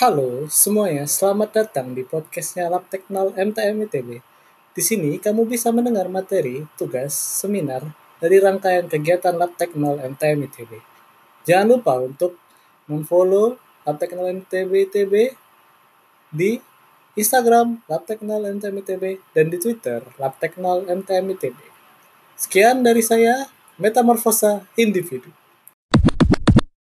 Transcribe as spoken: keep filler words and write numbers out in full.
Halo semuanya, selamat datang di podcastnya Lab Teknol M T M I T B. Di sini kamu bisa mendengar materi, tugas, seminar dari rangkaian kegiatan Lab Teknol M T M I T B. Jangan lupa untuk memfollow Lab Teknol M T B I T B di Instagram Lab Teknol M T M I T B dan di Twitter Lab Teknol M T M I T B. Sekian dari saya, Metamorfosa Individu.